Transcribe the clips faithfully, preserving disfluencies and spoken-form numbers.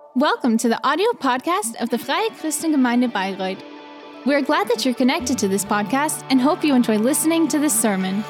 Welcome to the audio podcast of the Freie Christengemeinde Bayreuth. We are glad that you're connected to this podcast and hope you enjoy listening to this sermon.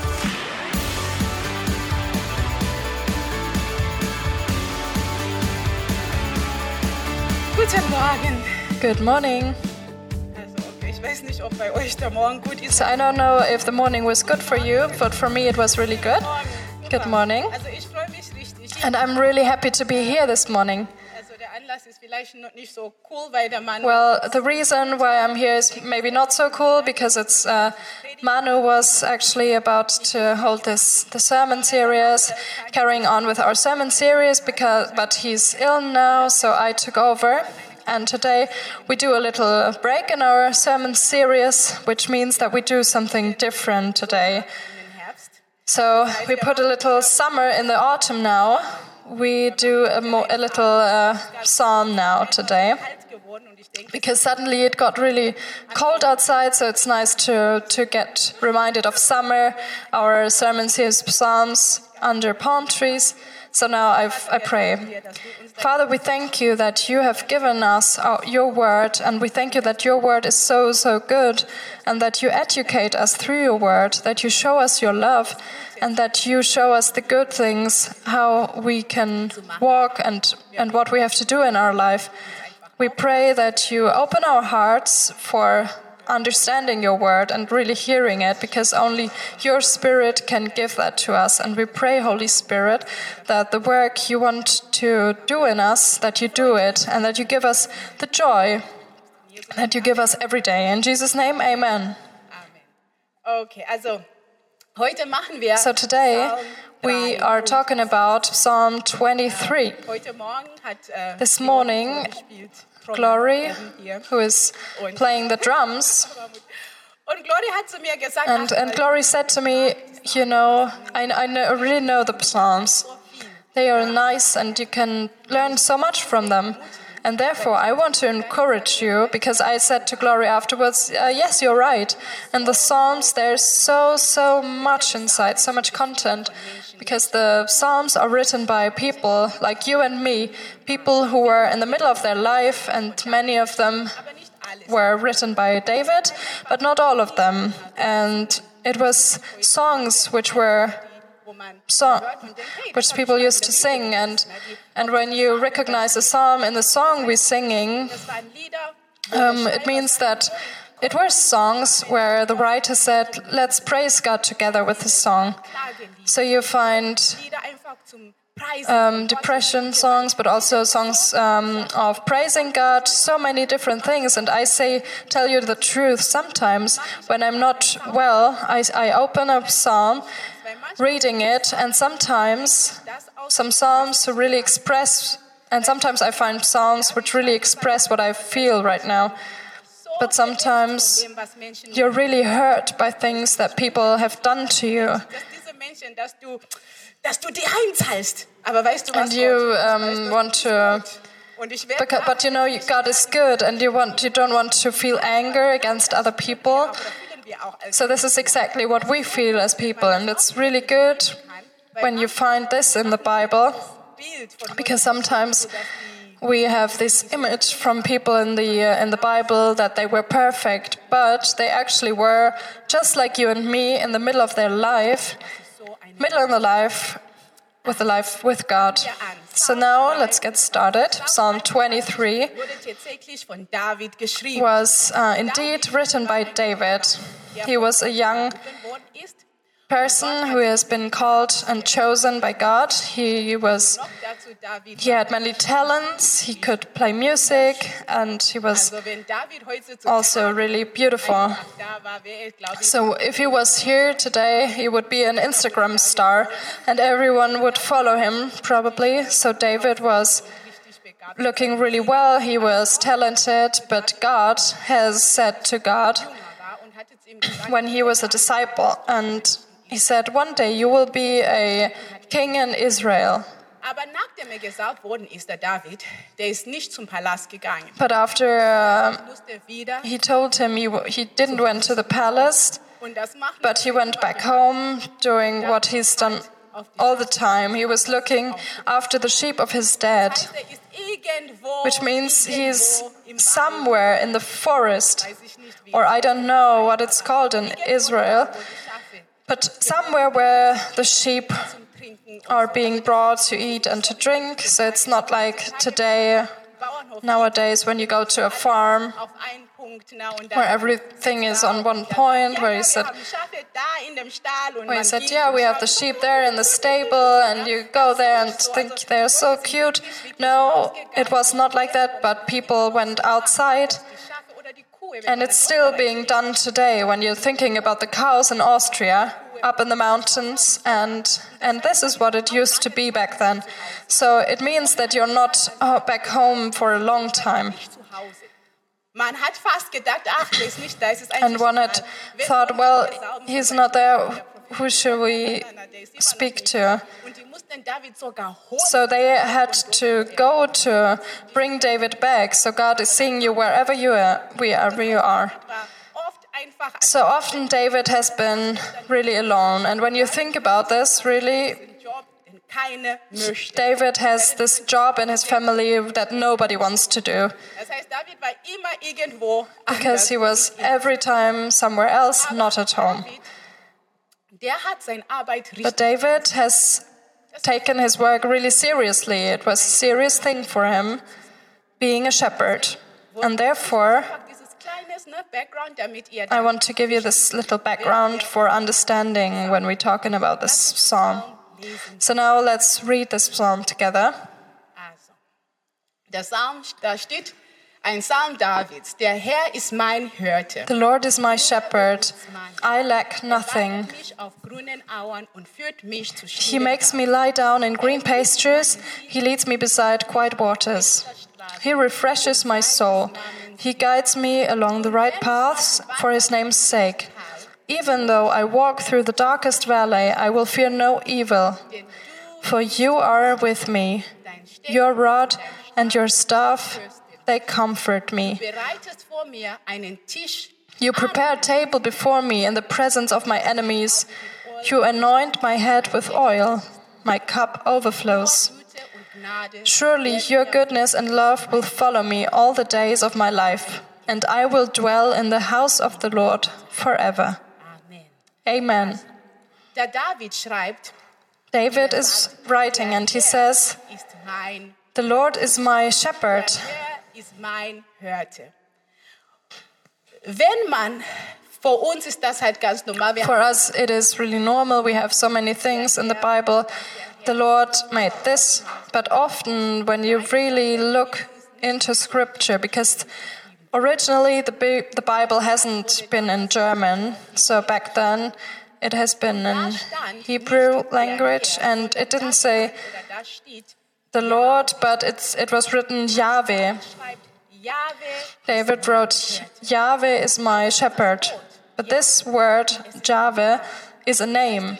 Guten Morgen. Good morning. Also, okay, ich weiß nicht, ob bei euch der Morgen gut ist. So I don't know if the morning was good for you, but for me it was really good. Good morning. Also ich freue mich richtig. And I'm really happy to be here this morning. Also der Anlass ist vielleicht noch nicht so cool, weil der Mann. Well, the reason why I'm here is maybe not so cool because it's uh, Manu was actually about to hold this the sermon series, carrying on with our sermon series because but he's ill now, so I took over. And today we do a little break in our sermon series, which means that we do something different today. So we put a little summer in the autumn now. We do a, mo- a little uh, psalm now today, because suddenly it got really cold outside, so it's nice to, to get reminded of summer. Our sermon series psalms under palm trees. So now I've, I pray. Father, we thank you that you have given us our, your word, and we thank you that your word is so, so good, and that you educate us through your word, that you show us your love, and that you show us the good things, how we can walk and, and what we have to do in our life. We pray that you open our hearts for understanding your word and really hearing it, because only your Spirit can give that to us. And we pray, Holy Spirit, that the work you want to do in us, that you do it, and that you give us the joy that you give us every day. In Jesus' name, amen. Amen. Okay, also heute machen wir. So today we are talking about Psalm twenty-three. Heute Morgen hat äh, This morning, Glory, who is playing the drums, Und Glory hat zu mir gesagt, and, and Glory said to me, you know, I, I know, really know the Psalms. They are nice and you can learn so much from them. And therefore, I want to encourage you, because I said to Glory afterwards, uh, yes, you're right. And the Psalms, there's so, so much inside, so much content. Because the Psalms are written by people like you and me, people who were in the middle of their life, and many of them were written by David, but not all of them. And it was songs which were song, which people used to sing, and and when you recognize a psalm in the song we're singing, um, it means that it were songs where the writer said, let's praise God together with the song. So you find um, depression songs, but also songs um, of praising God, so many different things. And I say, tell you the truth, sometimes when I'm not well, I, I open a psalm, reading it, and sometimes some psalms to really express, and sometimes I find psalms which really express what I feel right now. But sometimes you're really hurt by things that people have done to you. And you um, want to, because, but you know God is good, and you want you don't want to feel anger against other people. So this is exactly what we feel as people, and it's really good when you find this in the Bible, because sometimes we have this image from people in the uh, in the Bible that they were perfect, but they actually were just like you and me in the middle of their life, middle in the life, with the life with God. So now let's get started. Psalm twenty-three was uh, indeed written by David. He was a young person who has been called and chosen by God. He was he had many talents. He could play music, and he was also really beautiful. So if he was here today, he would be an Instagram star, and everyone would follow him probably. So David was looking really well. He was talented, but God has said to God when he was a disciple, and he said, one day you will be a king in Israel. But after uh, he told him he, he didn't went to the palace, but he went back home doing what he's done all the time. He was looking after the sheep of his dad. which means he's somewhere in the forest, or I don't know what it's called in Israel, but somewhere where the sheep are being brought to eat and to drink. So it's not like today, nowadays, when you go to a farm where everything is on one point, where you said, where you said, yeah, we have the sheep there in the stable, and you go there and think they're so cute. No, it was not like that, but people went outside, and it's still being done today when you're thinking about the cows in Austria, up in the mountains, and and this is what it used to be back then. So it means that you're not uh, back home for a long time. And one had thought, well, he's not there, who should we speak to? So they had to go to bring David back. So God is seeing you wherever you are, wherever you are. So often David has been really alone. And when you think about this, really, David has this job in his family that nobody wants to do. Because he was every time somewhere else, not at home. But David has taken his work really seriously. It was a serious thing for him, being a shepherd. And therefore, I want to give you this little background for understanding when we're talking about this psalm. So now let's read this psalm together. Der Psalm, da steht ein Psalm Davids. Der Herr ist mein Hirte. The Lord is my shepherd. I lack nothing. He makes me lie down in green pastures. He leads me beside quiet waters. He refreshes my soul. He guides me along the right paths for his name's sake. Even though I walk through the darkest valley, I will fear no evil. For you are with me. Your rod and your staff, they comfort me. You prepare a table before me in the presence of my enemies. You anoint my head with oil. My cup overflows. Surely your goodness and love will follow me all the days of my life, and I will dwell in the house of the Lord forever. Amen. David is writing and he says, the Lord is my shepherd. For us, it is really normal. We have so many things in the Bible. The Lord made this, but often when you really look into Scripture, because originally the the Bible hasn't been in German, so back then it has been in Hebrew language, and it didn't say the Lord, but it's it was written Yahweh. David wrote, Yahweh is my shepherd. But this word, Yahweh, is a name.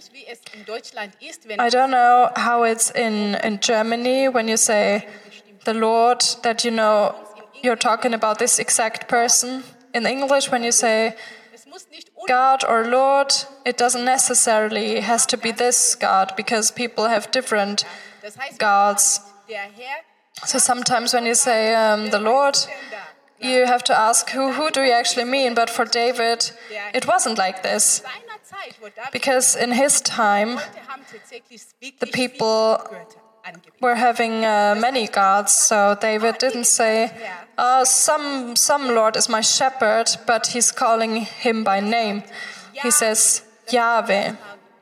I don't know how it's in, in Germany when you say the Lord, that you know you're talking about this exact person. In English, when you say God or Lord, it doesn't necessarily has to be this God, because people have different gods. So sometimes when you say um, the Lord, you have to ask, who, who do you actually mean? But for David, it wasn't like this. Because in his time, the people were having uh, many gods. So David didn't say, oh, some, some Lord is my shepherd, but he's calling him by name. He says, Yahweh,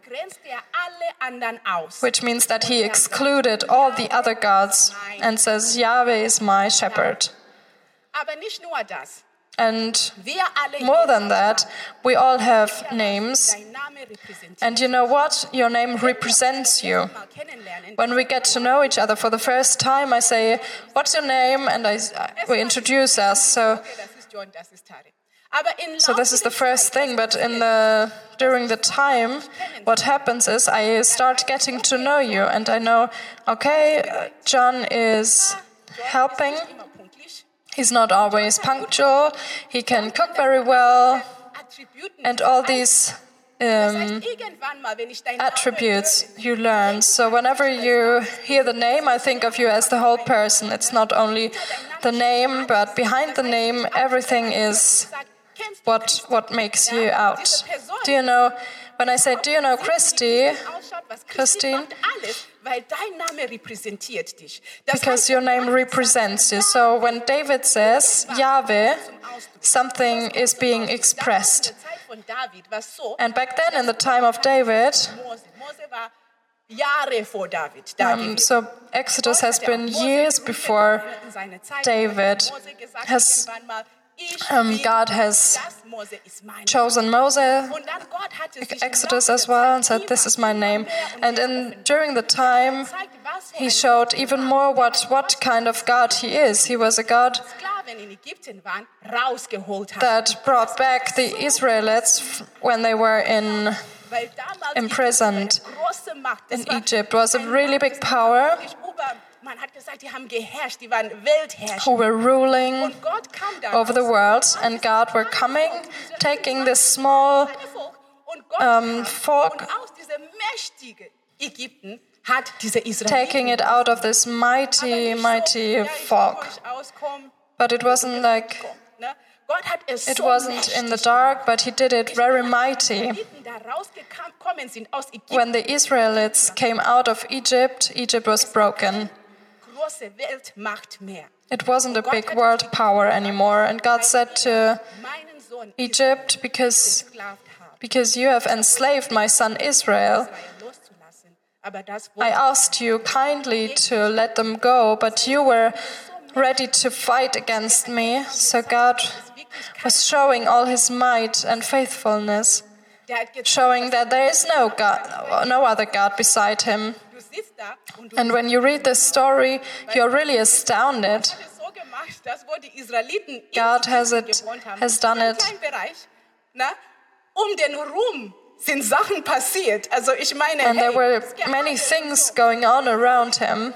which means that he excluded all the other gods and says, Yahweh is my shepherd. And more than that, we all have names. And you know what? Your name represents you. When we get to know each other for the first time, I say, what's your name? And I, we introduce us. So, so this is the first thing. But in the during the time, what happens is I start getting to know you. And I know, okay, John is helping. He's not always punctual. He can cook very well. And all these um, attributes you learn. So whenever you hear the name, I think of you as the whole person. It's not only the name, but behind the name, everything is what what makes you out. Do you know, when I say, do you know Christi, Christine? Because your name represents you. So when David says Yahweh, something is being expressed. And back then, in the time of David, um, so Exodus has been years before David. Has um, God has chosen Moses, Exodus as well, and said, "This is my name." And in, during the time, he showed even more what, what kind of God he is. He was a God that brought back the Israelites when they were in imprisoned in Egypt. It was a really big power who were ruling over the world, and God were coming, taking this small um, folk, taking it out of this mighty, mighty folk. But it wasn't like, it wasn't in the dark, but he did it very mighty. When the Israelites came out of Egypt, Egypt was broken. It wasn't a big world power anymore. And God said to Egypt, because, because you have enslaved my son Israel, I asked you kindly to let them go, but you were ready to fight against me. So God was showing all his might and faithfulness, showing that there is no God, no other God beside him. And when you read this story, you're really astounded. God has it, has done it. And there were many things going on around him.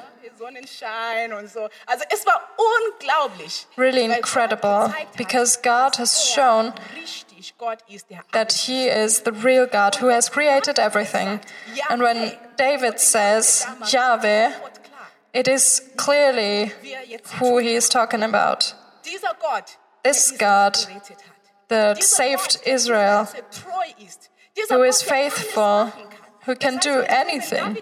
Really incredible, because God has shown that he is the real God who has created everything. And when David says Yahweh, it is clearly who he is talking about. This God that saved Israel, who is faithful, who can do anything.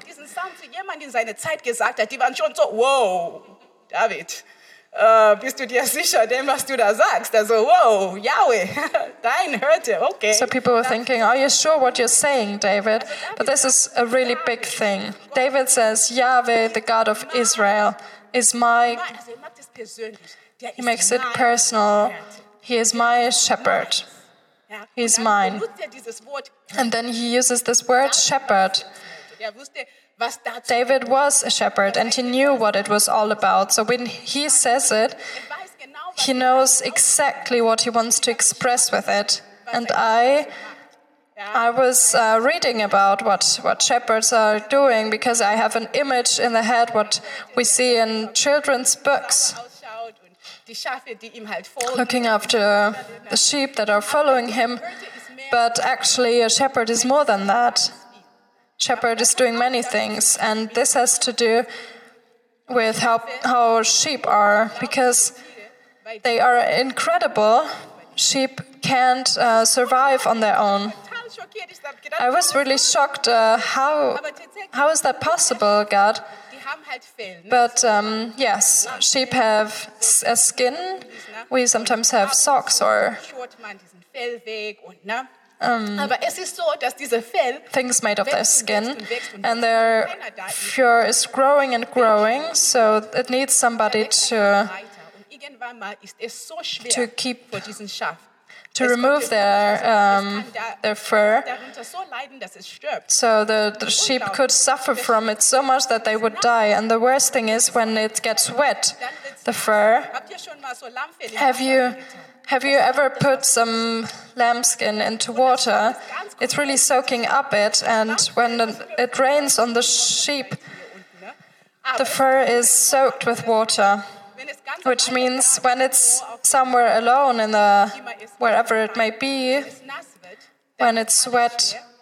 Wow, David, uh, bist du dir sicher, dem, was du da sagst? Also, wow, Yahweh, dein Hirte, okay. So people were thinking, are you sure what you're saying, David? But this is a really big thing. David says, Yahweh, the God of Israel, is my... He makes it personal. He is my shepherd. He's mine. And then he uses this word, shepherd. David was a shepherd, and he knew what it was all about. So when he says it, he knows exactly what he wants to express with it. And I, I was uh, reading about what, what shepherds are doing, because I have an image in the head what we see in children's books, looking after the sheep that are following him. But actually, a shepherd is more than that. Shepherd is doing many things, and this has to do with how, how sheep are, because they are incredible. Sheep can't uh, survive on their own. I was really shocked. Uh, how, how is that possible, God? But um, yes, sheep have a skin. We sometimes have socks or um, things made of their skin, and their fur is growing and growing, so it needs somebody to to keep to remove their um, their fur. So the, the sheep could suffer from it so much that they would die. And the worst thing is when it gets wet, the fur. Have you have you ever put some lambskin into water? It's really soaking up it, and when it rains on the sheep, the fur is soaked with water. Which means when it's somewhere alone in the wherever it may be, when it's wet,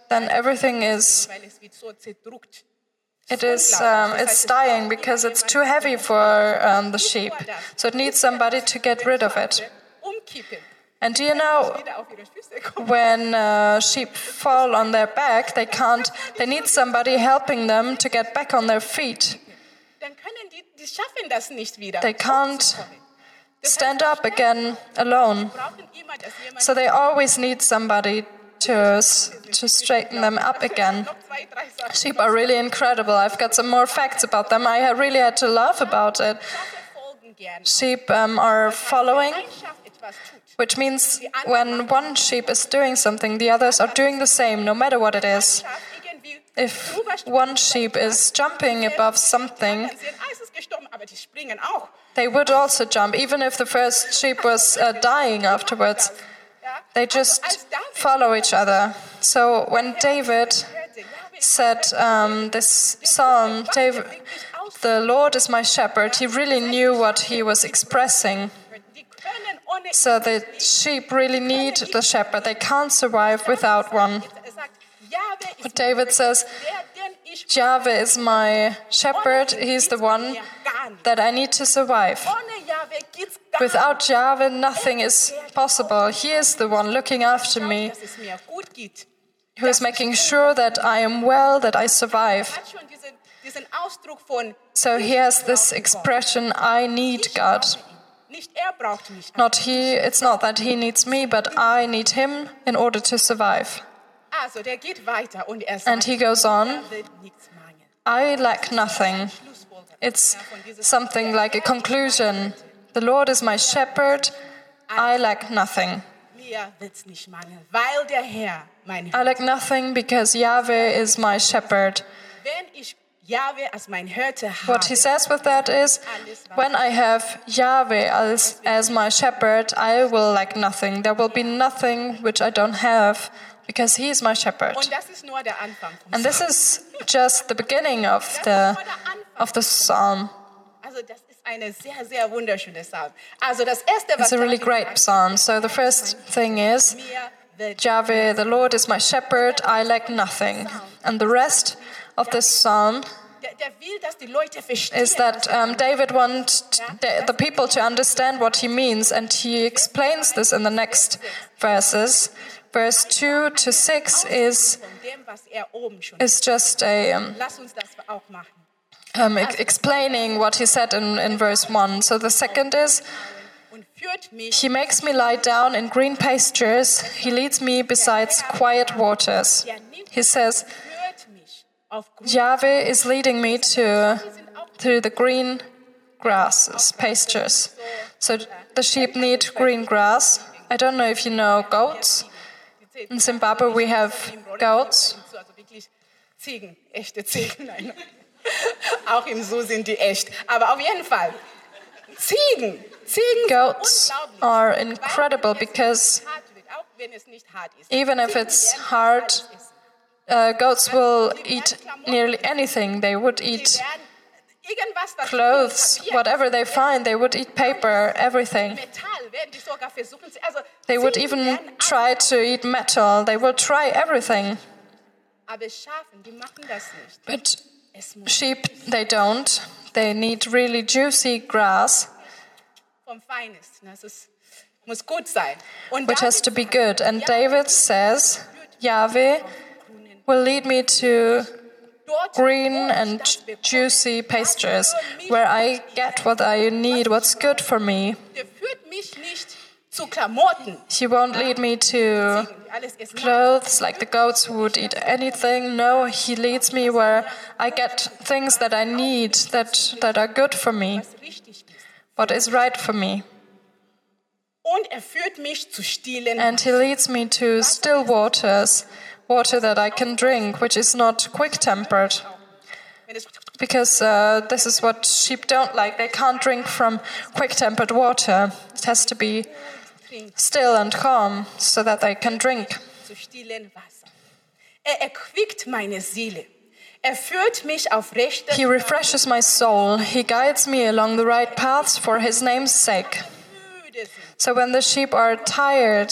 then everything is weil es wird so zerdrückt. it is um, it's dying because it's too heavy for um, the sheep. So it needs somebody to get rid of it. Umkippen. And do you know, Wieder auf ihre Füße kommen. when uh, sheep fall on their back, they can't. They need somebody helping them to get back on their feet. Dann können die, die schaffen das nicht wieder. They can't hochzukommen. Das stand heißt, up again alone. wir brauchen immer, dass jemand So they always need somebody to to straighten them up again. noch zwei, drei Sachen. Sheep are really incredible. I've got some more facts about them. I ha- really had to laugh about it. Schafe folgen gern. Sheep um, are following, Ein Schaf etwas tut. which means when one sheep is doing something, the others are doing the same, no matter what it is. Schaf irgendwie If drüber springt, one sheep is jumping above something, dann sehen, ah, es ist gestorben, aber die springen auch. they would also jump, even if the first sheep was uh, dying afterwards. Ja? They Also just als David follow each other. So when David hörte, Jahwe ist said um, this psalm, David, the Lord is my shepherd, he really knew what he was expressing. die können ohne So the sheep really need the shepherd. They can't survive without one. Er sagt, Jahwe ist But David says, der, den ich Yahweh is my shepherd. He's the one that I need to survive. ohne Jahwe geht's gar Without Yahweh, nothing is possible. He is the one looking after nicht, me, dass es mir gut geht. who is making sure that I am well, that I survive. Hat schon diesen, diesen Ausdruck von So he has this expression, I need God. nicht er braucht mich. Not he, it's not that he needs me, but I need him in order to survive. Also der geht weiter und er And sagt, he goes on, er wird nichts mangeln. I lack nothing. Schlussfolgerung. It's something like a conclusion. The Lord is my shepherd, I lack nothing. Mir wird's nicht mangeln, weil der Herr mein I Hirte. lack nothing because Yahweh is my shepherd. Wenn ich Jahwe als mein Hirte What he habe, says with that is, when I have Yahweh as, as my shepherd, I will lack nothing. There will be nothing which I don't have because he is my shepherd. und das ist nur der Anfang vom And this is just the beginning of the, of the psalm. Also das ist eine sehr, sehr wunderschöne Psalm. Also das Erste, was It's a really David great sagt, psalm. So the first thing is, mir wird Yahweh, the Lord is my shepherd, I lack nothing. And the rest of this psalm der, der will, dass die Leute verstehen. is that um, David wants the, the people to understand what he means, and he explains this in the next verses. Verse two to six is von dem, was er oben schon. is just a um, Lass uns das auch machen. um, ex- explaining what he said in, in verse one. So the second is, Und führt mich he makes me lie down in green pastures, he leads me beside quiet waters. He says, führt mich auf grüne Yahweh is leading me to through the green grasses, pastures. So the sheep need green grass. I don't know if you know goats. In Zimbabwe we have goats. Also wirklich Ziegen, echte Ziegen. Nein. Auch im Zoo sind die echt. Aber auf jeden Fall, Ziegen. Ziegen Goats sind unglaublich. are incredible because Hart wird, auch wenn es nicht hart ist. even if it's hard, uh, goats will eat nearly anything. They would Sie eat werden irgendwas, was clothes, Papier, whatever they find. They would eat paper, everything. Metall werden die sogar versuchen. zu- Also They would Ziegen even werden auch- try to eat metal. They will try everything. Aber Schafen, die machen das nicht. But Es muss sheep, they don't. They need really juicy grass, vom Feinsten. Das ist, muss gut sein. Und which has David to be good. And David says, Yahweh will lead me to dort, green wo ich and das bekomme, juicy pastures, where I get what I need, what's good for me. der führt mich nicht zu Klamotten. He won't lead me to Die alles essen. clothes like the goats would eat anything. No, he leads me where I get things that I need, that, that are good for me, Was richtig ist. what is right for me. Und er führt mich zu stillen. And he leads me to still waters, water that I can drink, which is not quick-tempered. Wenn es Because uh, this is what sheep don't like. They can't drink from quick-tempered water. It has to be still and calm so that they can drink. zu stillen Wasser. Er erquickt meine Seele. Er führt mich auf rechte He refreshes my soul. He guides me along the right paths for his name's sake. Müde sind. So when the sheep are tired, Kommt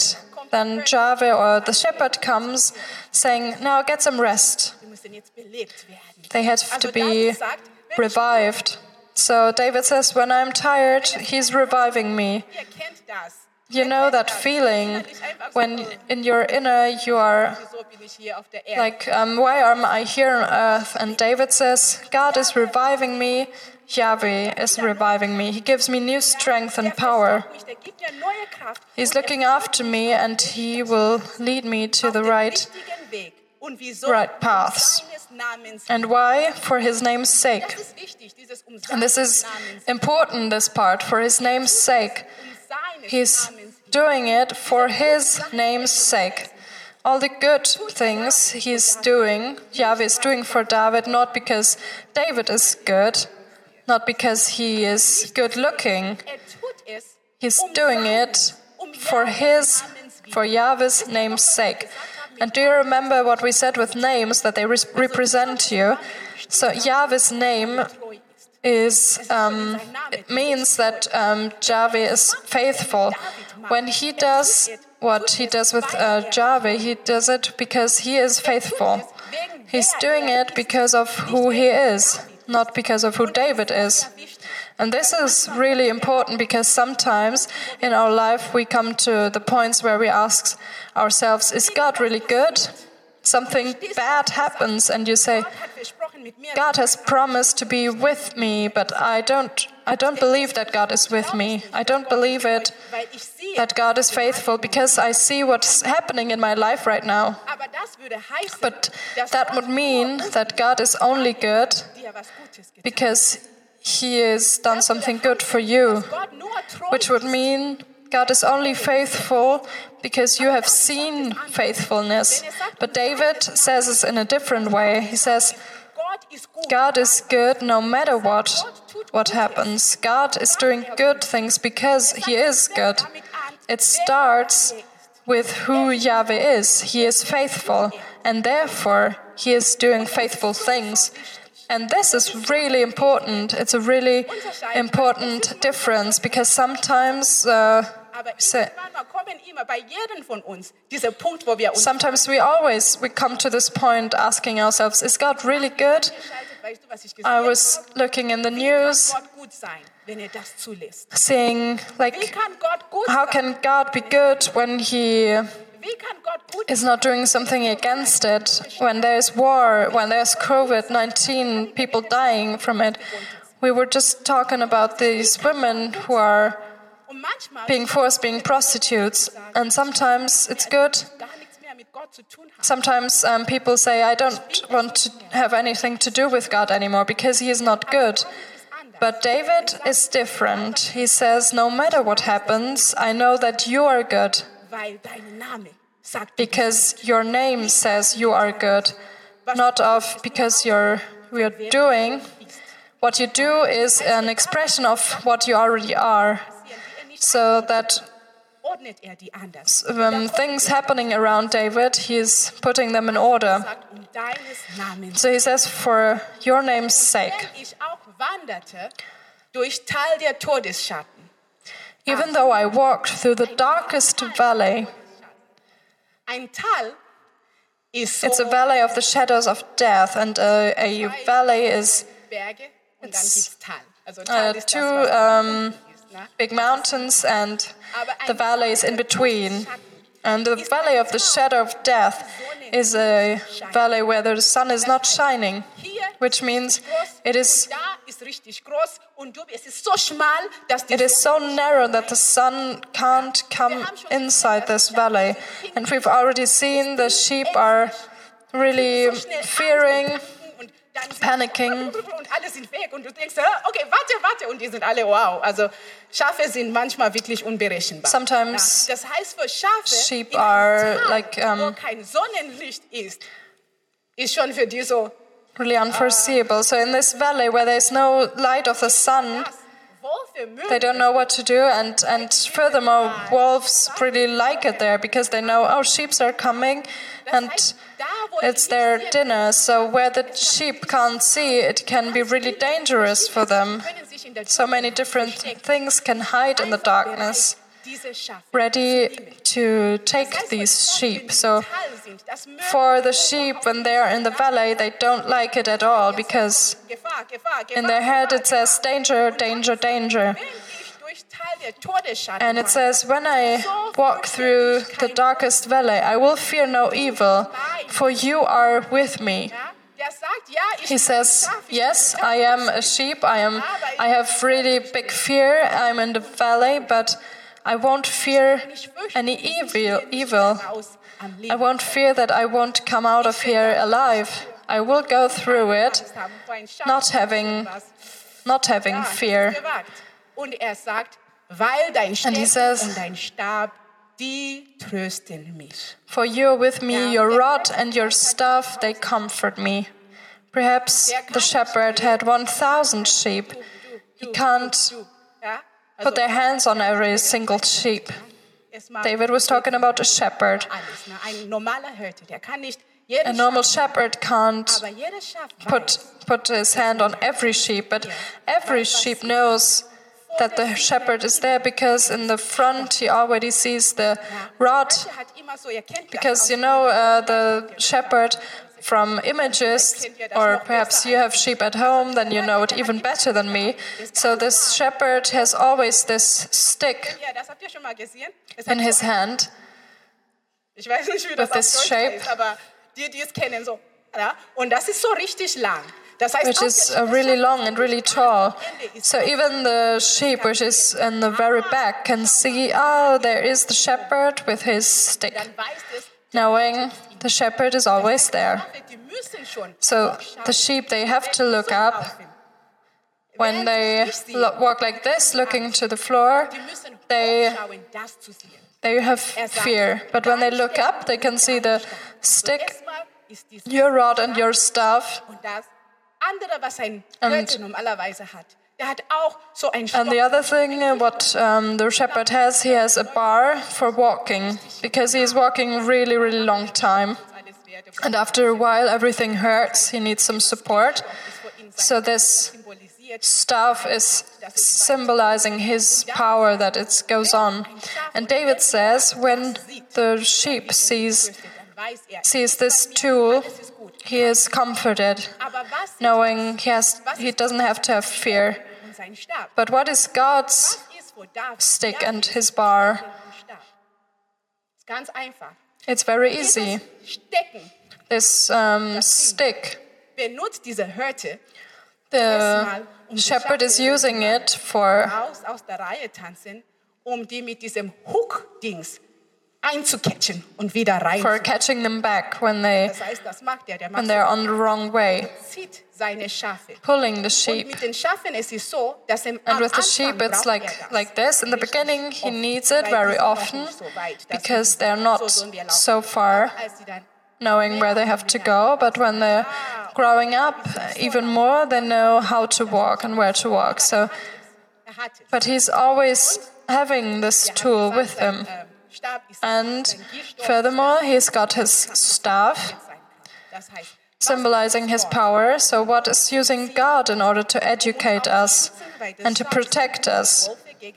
then Jahwe or the shepherd comes saying, now get some rest. Wir müssen jetzt belebt werden. They have to Also be David sagt, wenn ich revived. So David says, when I'm tired, he's reviving me. Ihr kennt das. You know that feeling when in your inner you are Wieso bin ich hier auf der Erde? like, um, why am I here on earth? And David says, God is reviving me, Yahweh is reviving me. He gives me new strength and power. Mich, der gibt mir neue Kraft. He's looking after me and he will lead me to the right, Richtigen Weg. Und wieso? right paths. Um seines Namens. And why? For his name's sake. Das ist wichtig, dieses um And this seines is Namens. important, this part, for his name's sake. Um seines He's Namens. doing it for his name's sake. All the good things he's doing, Yahweh is doing for David, not because David is good, not because he is good looking. Er tut es, He's um doing seines- it um for Jahwes his, Namens willen. for Yahweh's name's sake. And do you remember what we said with names, that they re- represent you? So Yahweh's name Treu ist. is um, it means that um, Yahweh is faithful. When he does what he does with uh, Yahweh, he does it because he is faithful. He's doing it because of who he is, not because of who David is. And this is really important because sometimes in our life we come to the points where we ask ourselves, is God really good? Something bad happens and you say, Gott hat versprochen, mit mir God has promised to be with me, but I don't I don't believe that God is with me. I don't believe it weil ich sehe, that God is faithful because I see what's happening in my life right now. aber das würde heißen, But dass that Gott would mean that God is only good dir was Gutes getan because he has done something good for you, hat. Gott nur treu which would ist. mean God is only faithful because you have seen faithfulness. But David says it in a different way. He says, Gott ist gut. God is good no matter what what happens. God is doing good things because he is good. It starts with who Yahweh is. He is faithful and therefore he is doing faithful things. And this is really important. It's a really important difference because sometimes uh, Aber so- irgendwann mal kommen immer bei jedem von uns dieser Punkt, wo wir uns sometimes we always we come to this point asking ourselves, is God really good? entscheiden, weißt du, was ich I gesehen was habe? looking in the Wie kann news, Gott gut sein, wenn er das zulässt? seeing Wie like, kann Gott gut how sein? can God be good when he Wie kann Gott gut is not doing something against it? When there's war, when there's COVID nineteen, people dying from it. We were just talking about these women who are Und manchmal being forced being prostitutes, and sometimes it's good. gar nichts mehr mit Gott zu tun haben. Sometimes um, people say, I don't want to have anything to do with God anymore because he is not good. But David is different. He says, no matter what happens, I know that you are good Weil dein Name sagt, because your name says you are good, not of because you're you're doing. What you do is an expression of what you already are, so that ordnet er die anders. um, things happening around David, he's putting them in order. Sagt um deines Namens. So he says, for your name's sake. Wenn ich auch wanderte durch Tal der Todesschatten. Even though I walked through the darkest valley, Ein Tal ist so it's a valley of the shadows of death, and a, a valley is Berge und dann gibt's Tal. Also uh, Tal ist das, two was um, unten ist, ne? big mountains and the valleys in between. And the valley of the shadow of death is a valley where the sun is not shining, Hier which means groß it is und da ist richtig groß und du, es ist so schmal, dass die It is so narrow that the sun can't come inside this valley. And we've already seen the sheep are really fearing, und dann panicking. und alle sind weg und du denkst, okay, warte, warte und die sind alle wow. Also Schafe sind manchmal wirklich unberechenbar. Sometimes Ja, das heißt für Schafe, sheep in einem are Tal, like, um, wo kein Sonnenlicht ist, ist schon für die so, really unforeseeable. So in this valley where there's no light of the sun, das, wo für Müll they don't know what to do. And, and furthermore, wolves really like it there because they know, oh, sheep are coming and da, wo it's ich their nicht sehe, dinner. So where the sheep can't see, it can be really dangerous for them. können sich in der So many Dunkelheit different verstecken. things can hide in the Einfach darkness. bereit, ready to take these sheep. So for the sheep, when they are in the valley, they don't like it at all, because in their head it says danger, danger, danger. And it says, when I walk through the darkest valley, I will fear no evil, for you are with me. He says, yes, I am a sheep, I am. I have really big fear, I'm in the valley, but I won't fear any evil. evil. I won't fear that I won't come out of here alive. I will go through it, not having, not having fear. And he says, for you are with me, your rod and your staff, they comfort me. Perhaps the shepherd had one thousand sheep. He can't put their hands on every single sheep. David was talking about a shepherd. A normal shepherd can't put, put his hand on every sheep, but every sheep knows that the shepherd is there, because in the front he already sees the rod. Because, you know, uh, the shepherd from images, or perhaps you have sheep at home, then you know it even better than me. So this shepherd has always this stick in his hand with this shape, which is uh, really long and really tall. So even the sheep, which is in the very back, can see, oh, there is the shepherd with his stick, knowing the shepherd is always there. So the sheep, they have to look up. When they lo- walk like this, looking to the floor, they, they have fear. But when they look up, they can see the stick, your rod and your staff. And, and the other thing, uh, what um, the shepherd has, he has a bar for walking, because he is walking really, really long time. And after a while, everything hurts. He needs some support. So this staff is symbolizing his power, that it goes on. And David says, when the sheep sees sees this tool, he is comforted, knowing he has he doesn't have to have fear. But what is God's stick and his bar? It's very easy. This um, stick, the shepherd is using it for for catching them back when they when they're on the wrong way, pulling the sheep. And with the sheep, it's like like this. In the beginning, he needs it very often, because they're not so far, knowing where they have to go. But when they're growing up, even more, they know how to walk and where to walk. So, but he's always having this tool with him. And furthermore, he's got his staff, symbolizing his power. So what is using God in order to educate us and to protect us?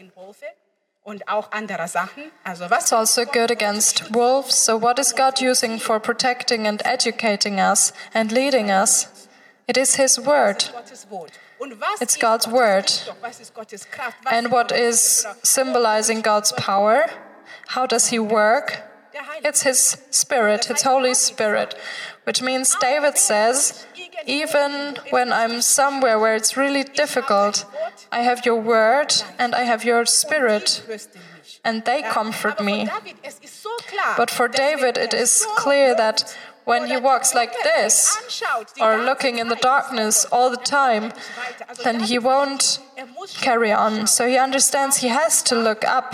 It's also good against wolves. So what is God using for protecting and educating us and leading us? It is His word. It's God's word. And what is symbolizing God's power? How does He work? It's His Spirit, His Holy Spirit. Which means David says, even when I'm somewhere where it's really difficult, I have your word and I have your Spirit, and they comfort me. But for David, it is clear that when he walks like this, or looking in the darkness all the time, then he won't carry on. So he understands he has to look up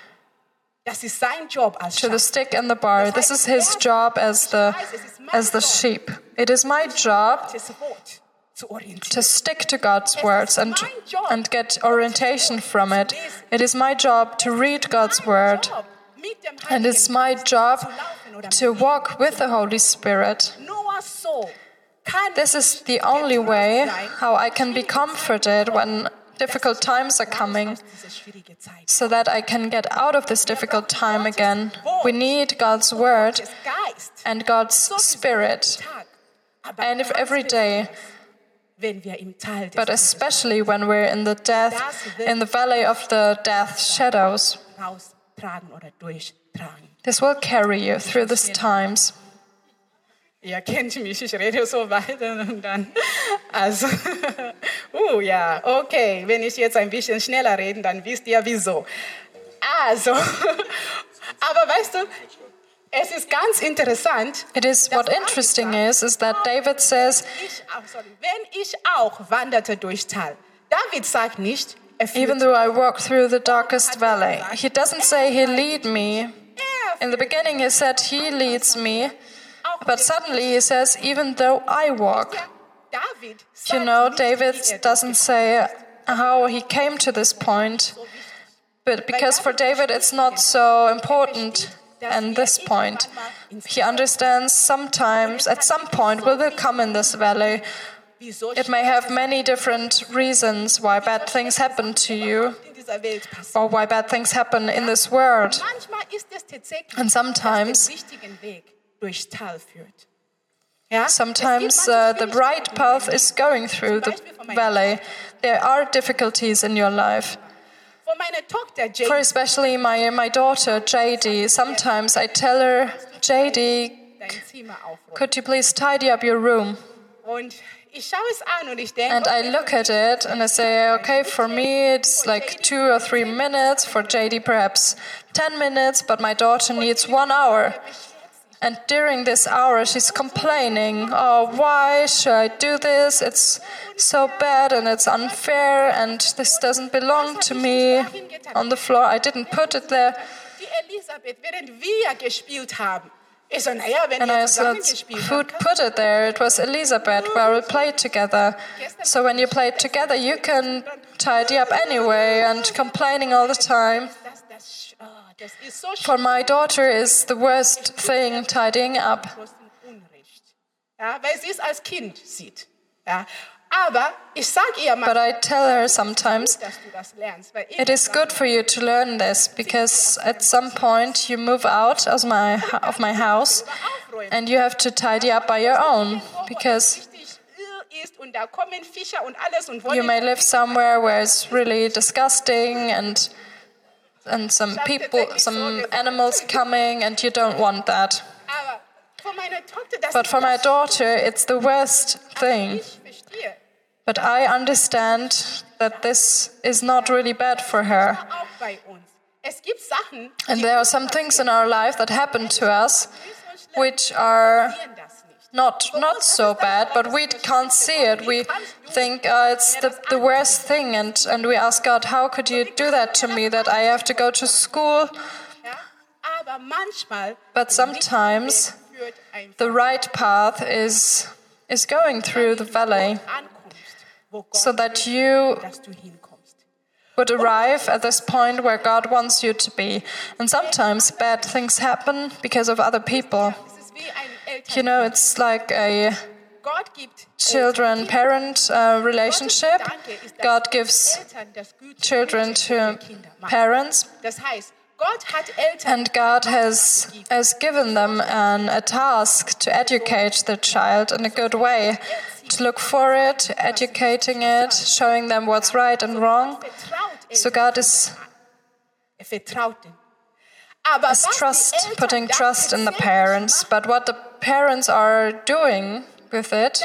to the stick and the bar. This is his job as the as the sheep. It is my job to stick to God's words and and get orientation from it. It is my job to read God's word, and it's my job to walk with the Holy Spirit. This is the only way how I can be comforted when difficult times are coming, so that I can get out of this difficult time again. We need God's word and God's spirit, and if every day, but especially when we're in the death, in the valley of the death shadows. This will carry you through these times. Ihr kennt mich, ich rede so weiter und dann, also, uh, ja, okay, wenn ich jetzt ein bisschen schneller rede, dann wisst ihr wieso. Also, aber weißt du, es ist ganz interessant. It is what interesting is, is that David says, ich auch, sorry, wenn ich auch wanderte durchs Tal. David sagt nicht, er führt even though I walk through the darkest valley. He doesn't say he lead me. In the beginning he said he leads me. But suddenly he says, even though I walk. You know, David doesn't say how he came to this point, but because for David it's not so important at this point. He understands sometimes, at some point, we will come in this valley. It may have many different reasons why bad things happen to you, or why bad things happen in this world. And sometimes Sometimes uh, the right path is going through the valley. There are difficulties in your life. For especially my, my daughter, J D, sometimes I tell her, J D, could you please tidy up your room? And I look at it and I say, okay, for me it's like two or three minutes, for J D perhaps ten minutes, but my daughter needs one hour. And during this hour, she's complaining, oh, why should I do this? It's so bad and it's unfair and this doesn't belong to me on the floor. I didn't put it there. And I said, who put it there? It was Elisabeth, where we played together. So when you play together, you can tidy up anyway and complaining all the time. For my daughter is the worst thing tidying up. But I tell her sometimes, it is good for you to learn this, because at some point you move out of my, of my house and you have to tidy up by your own, because you may live somewhere where it's really disgusting and and some people, some animals coming, and you don't want that. But for my daughter, it's the worst thing. But I understand that this is not really bad for her. And there are some things in our life that happen to us which are not not so bad, but we can't see it. We think uh, it's the, the worst thing, and, and we ask God, how could you do that to me, that I have to go to school? But sometimes the right path is, is going through the valley, so that you would arrive at this point where God wants you to be. And sometimes bad things happen because of other people. You know, it's like a children-parent uh, relationship. God gives children to parents, and God has, has given them an, a task to educate the child in a good way, to look for it, educating it, showing them what's right and wrong. So God is, is trust, putting trust in the parents, but what the parents are doing with it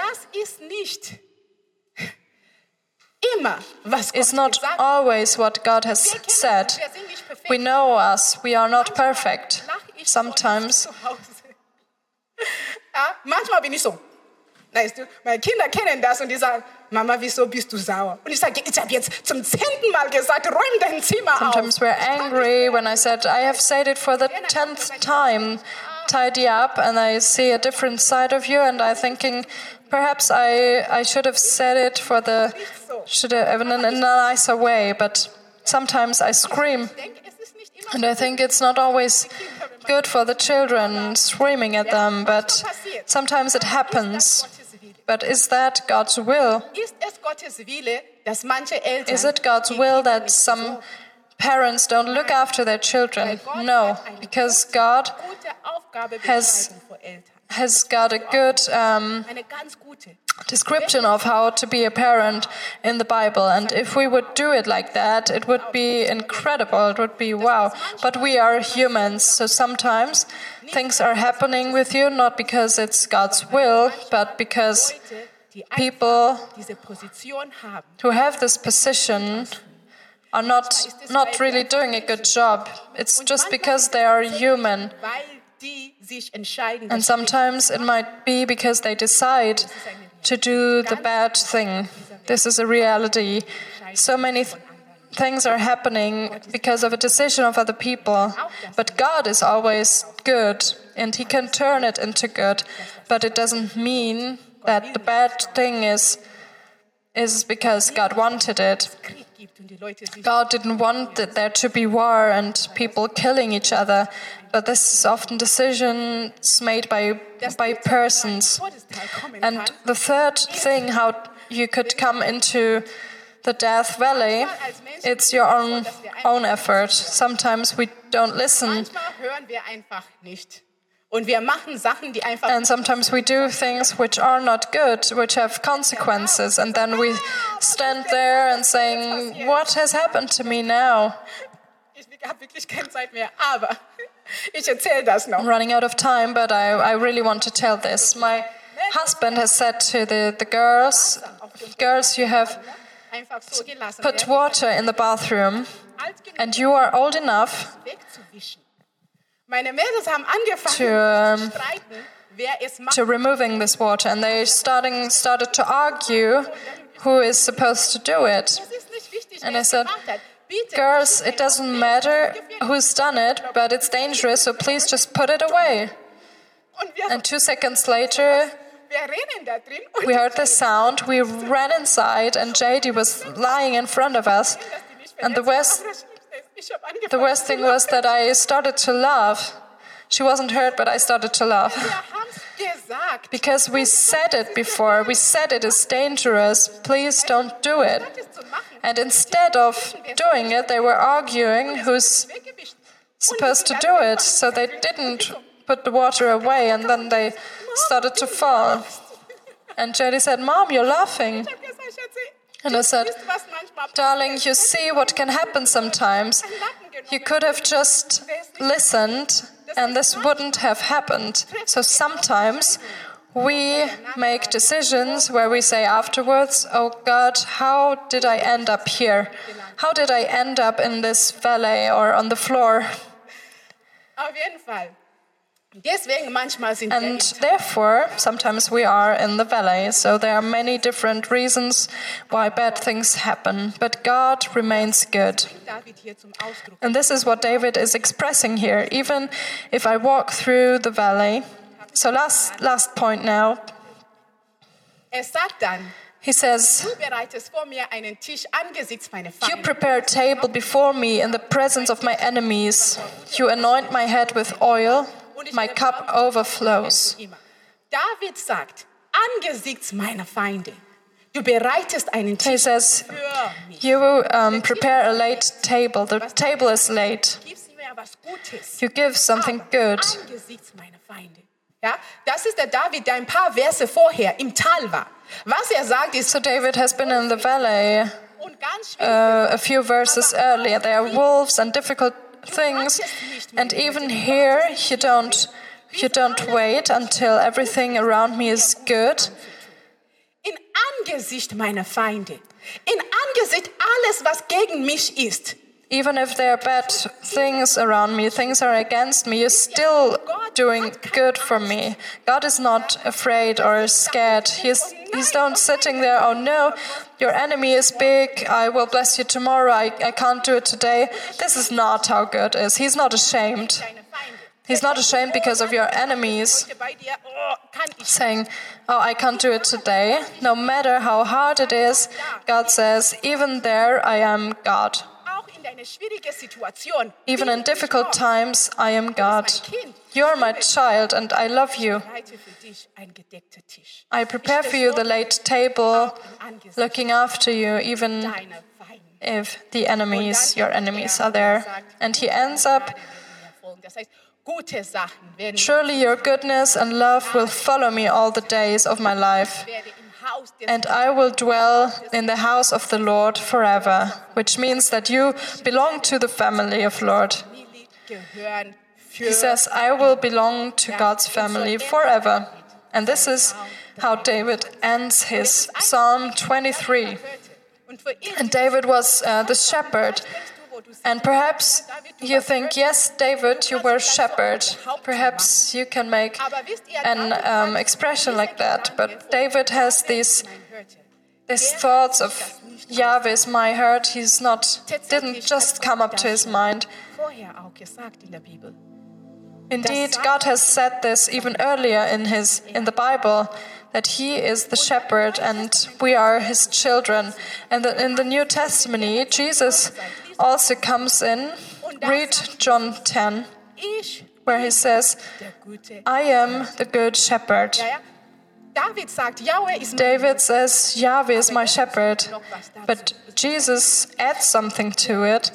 is not always what God has said. We know us, we are not perfect. Sometimes. Manchmal bin ich so. Weißt du, meine Kinder kennen das und die sagen, Mama, wieso bist du sauer? Und ich sage, ich habe jetzt zum zehnten Mal gesagt, räum dein Zimmer auf. Sometimes we're angry when I said, I have said it for the tenth time, tidy up, and I see a different side of you, and I'm thinking, perhaps I, I should have said it for the, should have in a, in a nicer way, but sometimes I scream. And I think it's not always good for the children, screaming at them, but sometimes it happens. But is that God's will? Ist es Gottes Wille, dass manche Eltern Is it God's die will Kinder that nicht some so parents don't look after their children? No, because God gute Aufgabe has- beschreiben für Eltern? has got a good um, Eine ganz gute. description of how to be a parent in the Bible. And if we would do it like that, it would be incredible. It would be wow. But we are humans, so sometimes things are happening with you not because it's God's will, but because Leute, die people einfach diese Position haben. who have this position are not not really doing a good job. It's just because they are human. Weil die sich entscheiden, And das sometimes it might be because they decide to do the bad thing. This is a reality. So many th- things are happening because of a decision of other people. But God is always good, and He can turn it into good. But it doesn't mean that the bad thing is, is because God wanted it. Krieg gibt und die Leute sich God didn't want that there to be war and people killing each other, but this is often decisions made by by persons. Todesteil kommen And kann. the third thing, how you could come into the Death Valley, it's your own own effort. Sometimes we don't listen, Manchmal hören wir einfach nicht. Und wir machen Sachen, die einfach and sometimes we do things which are not good, which have consequences, and then we stand there and saying, "What has happened to me now?" Ich habe wirklich keine Zeit mehr, aber ich erzähle das noch. I'm running out of time, but I, I really want to tell this. My husband has said to the, the girls, girls, you have Einfach so gelassen put werden, water in the bathroom, alt genug and you are old enough wegzuwischen. Meine Mädels haben angefangen To, um, zu streiten, wer es macht. to removing this water, and they starting started to argue who is supposed to do it. Es ist nicht wichtig, And wer I es said, gemacht hat. Bitte, Girls, it doesn't matter who's done it, but it's dangerous, so please just put it away. und wir, And two seconds later, wir rennen da drin und we heard the sound, we ran inside, and J D was lying in front of us. dass die nicht And the verletzt worst, haben. Ich habe angefangen the worst thing was that I started to laugh. She wasn't hurt, but I started to laugh. Wir haben es gesagt. Because we said it before, we said it is dangerous, please don't do it. Statt es zu machen, And instead of doing it, they were arguing who's weggewischt. supposed to do it. So they didn't put the water away, and then they started to fall. And J D said, Mom, you're laughing. Ich habe gesagt, Schatzi, And I said, wisst ihr, was manchmal Darling, you see what can happen sometimes. You could have just listened, and this wouldn't have happened. So sometimes we make decisions where we say afterwards, oh God, how did I end up here? How did I end up in this valley or on the floor? Auf jeden Fall. Deswegen manchmal sind wir And im therefore, sometimes we are in the valley. So there are many different reasons why bad things happen. But God remains good. David hier zum Ausdruck. And this is what David is expressing here. Even if I walk through the valley. So last last point now. Er sagt dann, He says, du bereitest vor mir einen Tisch angesichts meiner you Feinde. prepare a table before me in the presence of my enemies. You anoint my head with oil. My cup overflows. David sagt, angesichts meiner Feinde, du bereitest einen He Tisch says, für mich. you um, prepare a late table. The table is late. Gibst mir was Gutes. You give something good. Angesichts meiner Feinde. Ja, das ist der David, der ein paar Verse vorher im Tal war. Was er sagt ist, So David has been in the valley und ganz schwierig, uh, a few verses earlier. There are wolves and difficult things, and even here you don't you don't wait until everything around me is good. in Angesicht meiner Feinde, in Angesicht alles, was gegen mich ist, Even if there are bad things around me, things are against me, you're still doing good for me. God is not afraid or scared. He's, he's not sitting there, oh no, your enemy is big, I will bless you tomorrow, I, I can't do it today. This is not how God is. He's not ashamed. deine Feinde. He's not ashamed because of your enemies, Heute bei dir, oh, kann ich saying, oh, I can't do it today. No matter how hard it is, God says, even there I am God. auch in der eine schwierige Situation Even bin in ich difficult Gott. times, I am God. You are my child and I love you. Ich bereite für dich einen gedeckten Tisch. I prepare for you the late table, looking after you, even Deine Feinde. if the enemies, your enemies, are there. And he ends up, Das heißt, gute Sachen werden surely your goodness and love will follow me all the days of my life. werde im Haus des And I will dwell in the house of the Lord forever, which means that you belong to the family of Lord. Familie gehören für He says, I will belong to God's family forever. And this is how David ends his Psalm twenty-three. und für ihn. And David was uh, the shepherd. And perhaps you think, yes, David, you were shepherd. Perhaps you can make an um, expression like that. But David has these these thoughts of Yahweh is my herd. He's not didn't just come up to his mind. Vorher auch gesagt in der Bibel. Indeed, God has said this even earlier in his in the Bible, that he is the shepherd and we are his children. And that in the New Testament, Jesus also comes in. Read John ten, Ich, where he says, der gute. I am the good shepherd. Ja, ja. David sagt, Yahweh ist mein David says, Yahweh is my shepherd. But Jesus adds something to it.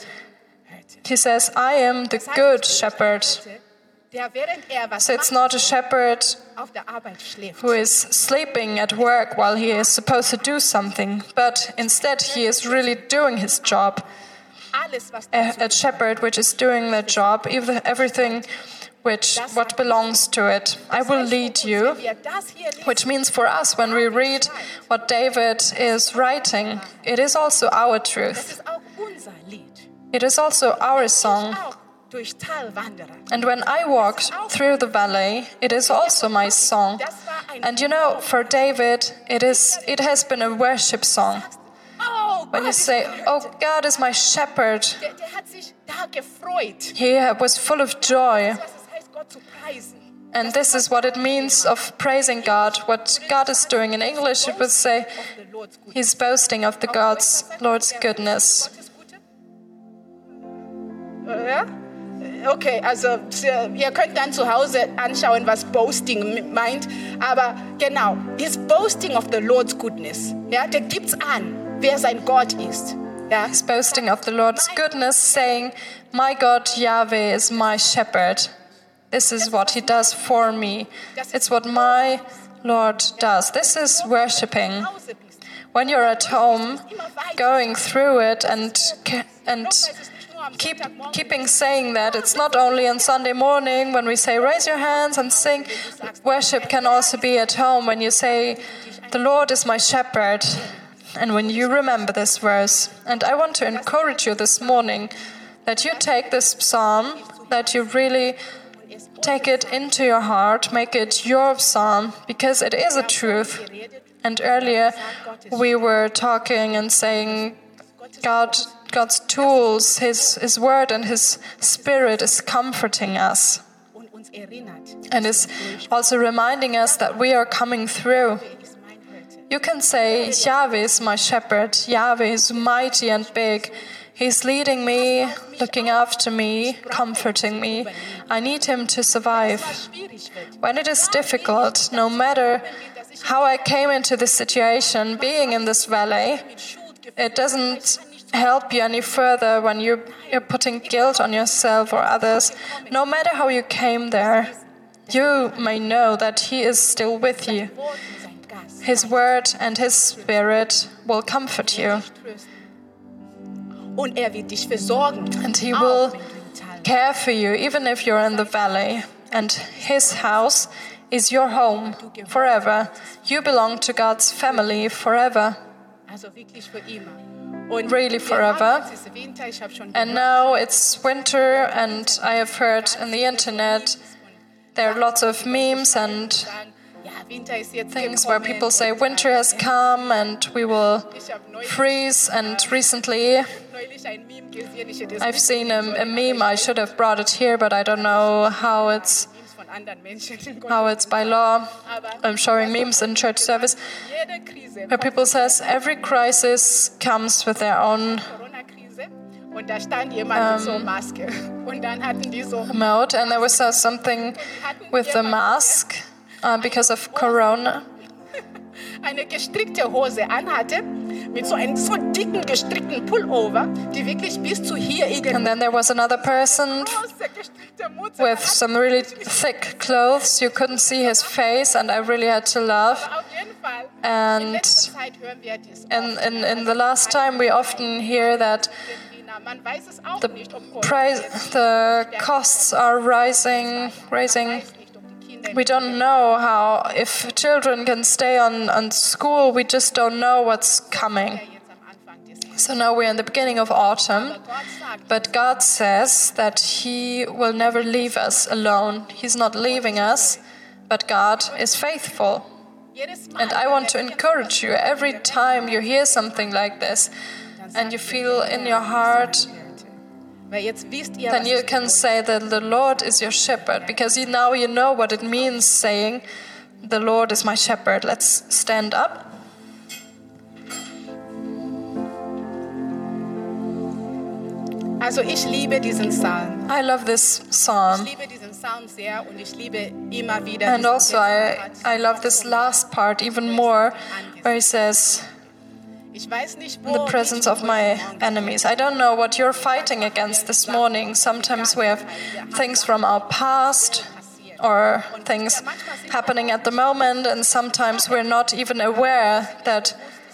He says, I am the good shepherd. der während er was So it's macht, not a shepherd auf der Arbeit schläft. who is sleeping at work while he is supposed to do something, but instead he is really doing his job. Alles, was A, a shepherd which is doing their job, even everything which what belongs to it. I will lead you, wir das hier lesen, which means for us when we read what David is writing, it is also our das truth. ist auch unser Lied. It is also our song. Auch durch Talwanderer. And when I walked through the valley, it is also my song. Das war ein And you know, for David, it is it has been a worship song. Oh, When you Gott ist say, mein "Oh, Hirte." God is my shepherd," Der, der hat sich da gefreut. he was full of joy. Was es heißt, Gott zu preisen. And this is what it means of praising God. What God is doing in English, it would say, Of the Lord's good. he's boasting of the God's Lord's goodness. Gottes Gute? Äh, Ja? Okay, also ihr könnt dann zu Hause anschauen, was boasting meint. Aber genau, this boasting of the Lord's goodness. Ja, der gibt's an, wer sein Gott ist. Ja, He's boasting of the Lord's goodness, saying, "My God Yahweh is my shepherd. This is what he does for me. It's what my Lord does." This is worshipping. Hause bist. When you're at home, going through it and and keep keeping saying that, it's not only on Sunday morning when we say raise your hands and sing. Worship can also be at home when you say, "The Lord is my shepherd," and when you remember this verse. And I want to encourage you this morning that you take this psalm, that you really take it into your heart, make it your psalm, because it is a truth. And earlier we were talking and saying God, God's tools, His, His word and His Spirit is comforting us Und uns erinnert, and is also reminding us that we are coming through. ist mein Hirte. You can say, Yahweh is my shepherd, Yahweh is mighty and big. He's leading me, looking after me, comforting me. I need Him to survive. Schwierig wird. When it is difficult, no matter how I came into this situation, being in this valley, it doesn't help you any further when you're, you're putting guilt on yourself or others. No matter how you came there, you may know that He is still with you. Wort und sein Geist. His word and His Spirit will comfort you, Und er wird dich versorgen. and He Auch will wenn du im Tal care for you, even if you're in the valley. And His house is your home forever. You belong to God's family forever. Also wirklich für immer. Und Really wir forever. haben jetzt Winter, ich habe schon And gehört, now it's winter, and I have heard in the internet there are lots of memes and sagen, ja, Winter ist jetzt things where gekommen. people say winter has come and we will Ich habe neulich, freeze. And recently neulich ein Meme gesehen. Ich hätte es I've nicht seen a, sehen a sollen, meme. aber I should have brought it here, but I don't know how it's Memes von anderen Menschen. how it's by law. I'm showing memes in church service Jede Krise, where people says every crisis comes with their own Corona-Krise, Und da stand jemand mit so Maske. Und dann hatten die so mode, and there was uh, something with the mask uh, because of Corona. eine gestrickte Hose anhatte, mit so einem so dicken gestrickten Pullover, die wirklich bis zu hier irgendwie. And then there was another person with some really thick clothes. You couldn't see his face, and I really had to laugh. And in, in, in the last time, we often hear that the price, the costs are rising, rising. We don't know how, if children can stay on, on school, we just don't know what's coming. So now we're in the beginning of autumn, but God says that He will never leave us alone. He's not leaving us, but God is faithful. And I want to encourage you, every time you hear something like this, and you feel in your heart, then you can say that the Lord is your shepherd, because you, now you know what it means saying, the Lord is my shepherd. Let's stand up. Also ich liebe diesen Psalm. I love this psalm. Ich liebe diesen Psalm sehr und ich liebe immer wieder. And also I, I love this last part even more, where he says, in the presence of my enemies. I don't know what you're fighting against this morning. Sometimes we have things from our past or things happening at the moment, and sometimes we're not even aware that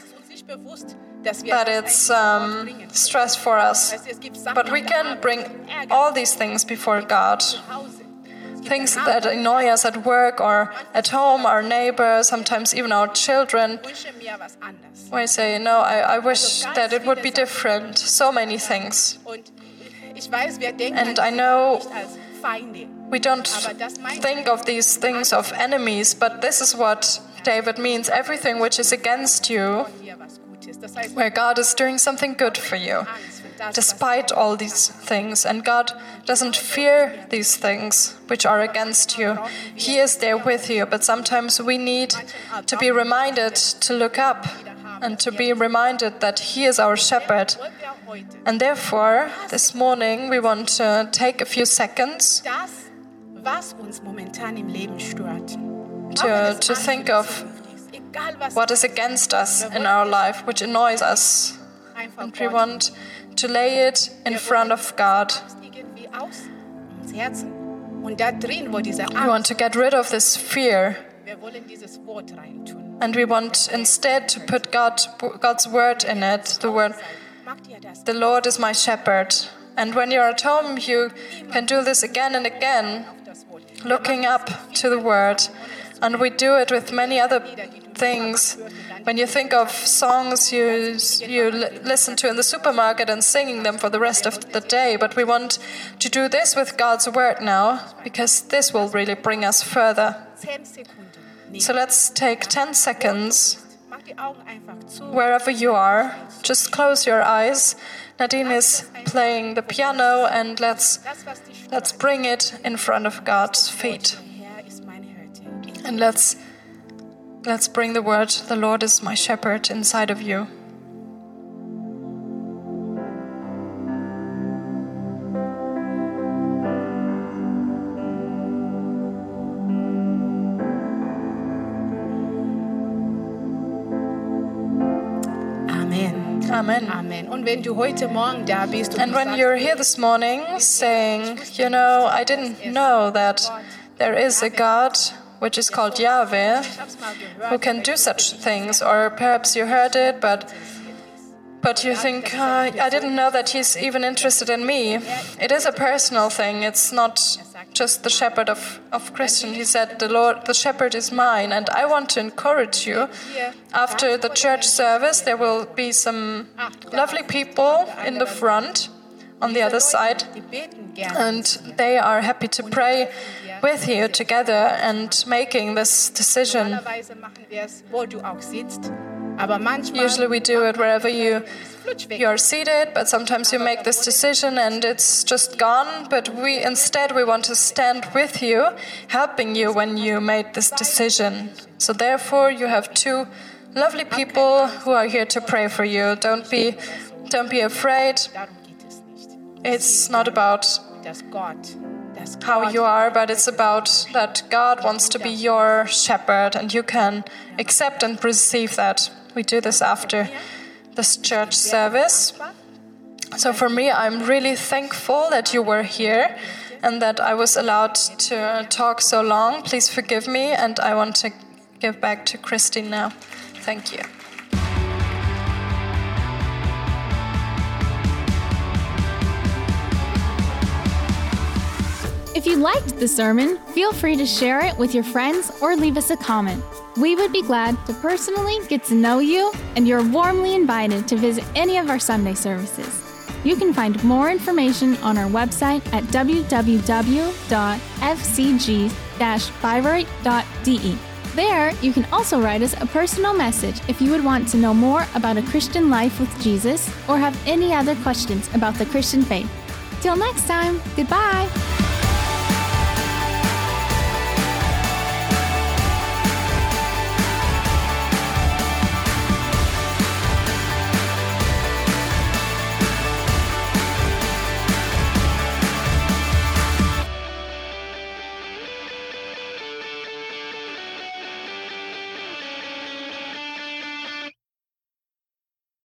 that it's um, stress for us. But we can bring all these things before God. Things that annoy us at work or at home, our neighbors, sometimes even our children. We say, no, I, I wish that it would be different. So many things. And I know we don't think of these things of enemies, but this is what David means. Everything which is against you, where God is doing something good for you, despite all these things. And God doesn't fear these things which are against you. He is there with you, but sometimes we need to be reminded to look up and to be reminded that He is our shepherd. And therefore, this morning we want to take a few seconds to, to think of what is against us in our life, which annoys us. And we want to lay it in front of God. We want to get rid of this fear. And we want instead to put God, God's word in it, the word, the Lord is my shepherd. And when you're at home, you can do this again and again, looking up to the word. And we do it with many other things. When you think of songs you you listen to in the supermarket and singing them for the rest of the day, but we want to do this with God's word now, because this will really bring us further. So let's take ten seconds, wherever you are. Just close your eyes. Nadine is playing the piano, and let's let's bring it in front of God's feet. And let's let's bring the word, the Lord is my shepherd, inside of you. Amen. Amen. Amen. Und wenn du heute Morgen da bist und And when you're here this morning saying, you know, I didn't know that there is a God which is called Yahweh, who can do such things, or perhaps you heard it, but but you think, uh, I didn't know that He's even interested in me. It is a personal thing. It's not just the shepherd of, of Christian. He said, the Lord, the shepherd is mine. And I want to encourage you, after the church service, there will be some lovely people in the front, on the other side, and they are happy to pray with you together and making this decision. Usually we do it wherever you you're seated, but sometimes you make this decision and it's just gone. But we instead we want to stand with you, helping you when you made this decision. So therefore you have two lovely people who are here to pray for you. Don't be don't be afraid. It's not about dass Gott, dass how Gott you are, but it's about that God wants to be your shepherd, and you can accept and receive that. We do this after this church service. So for me, I'm really thankful that you were here and that I was allowed to talk so long. Please forgive me, and I want to give back to Christine now. Thank you. If you liked the sermon, feel free to share it with your friends or leave us a comment. We would be glad to personally get to know you, and you're warmly invited to visit any of our Sunday services. You can find more information on our website at w w w dot f c g dash bayreuth dot d e. There, you can also write us a personal message if you would want to know more about a Christian life with Jesus or have any other questions about the Christian faith. Till next time, goodbye!